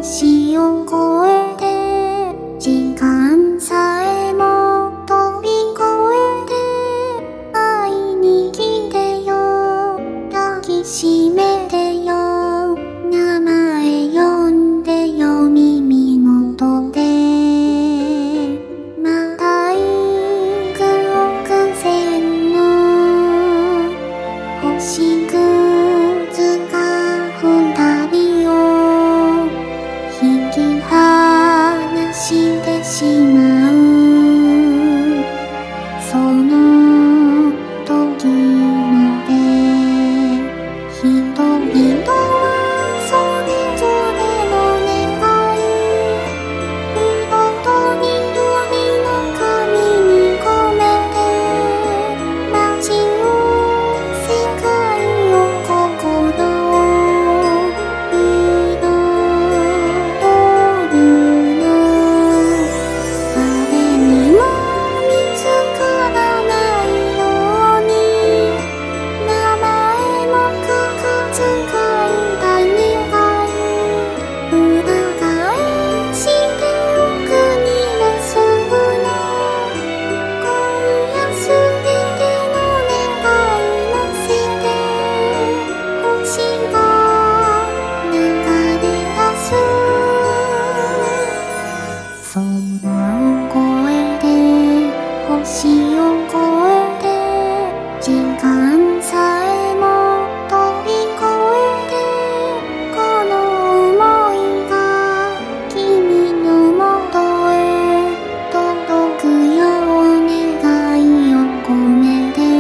星を越えて時間さえも飛び越えて会いに来てよ、抱きしめてよ、名前呼んでよ耳元で。また幾億千の星屑が二人を引き離してしまう。その時まで人々はそれぞれの願い、見事に海の神に込めて、街を世界を心を彩るの。誰にも見つからないように、名前も書かず書いた願い、裏返しておくにはすぐの。今夜すべての願い乗せて、星が流れ出す。空を越えて星を越えて時間さえも飛び越えて、この想いが君のもとへ届くよう願いを込めて、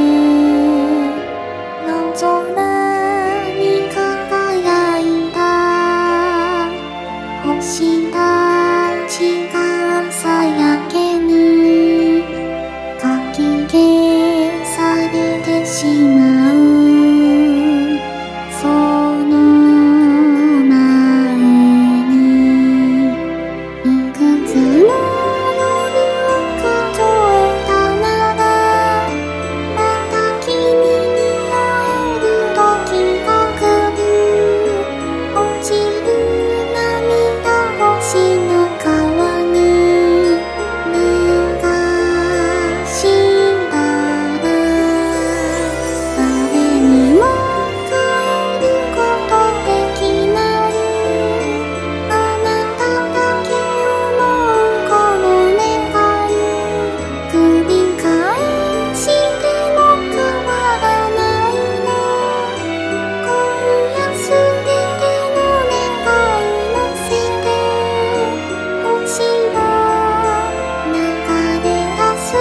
夜空に輝いた星たちが朝焼けにかき消されてしまう。その前にいくつの夜を数えたなら、また君に会える時が来る。落ちる涙星の川に流したら、誰にも変えることできない。あなただけ思うこの願い、繰り返しても変わらないの。今夜すべての願い乗せて、星が流れ出す。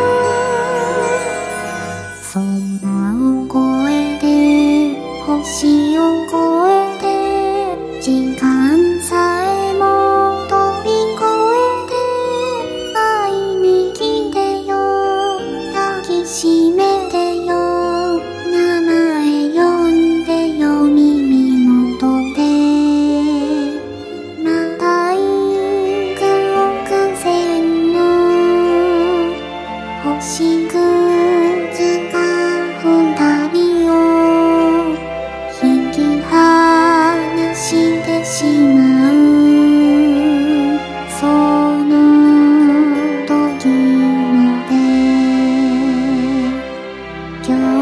空を越えて星を越えて時間さえも飛び越えて、会いに来てよ、抱きしめてよ、名前呼んでよ耳元で。また幾億千の星屑が二人を引き離してしまう。その時まで今日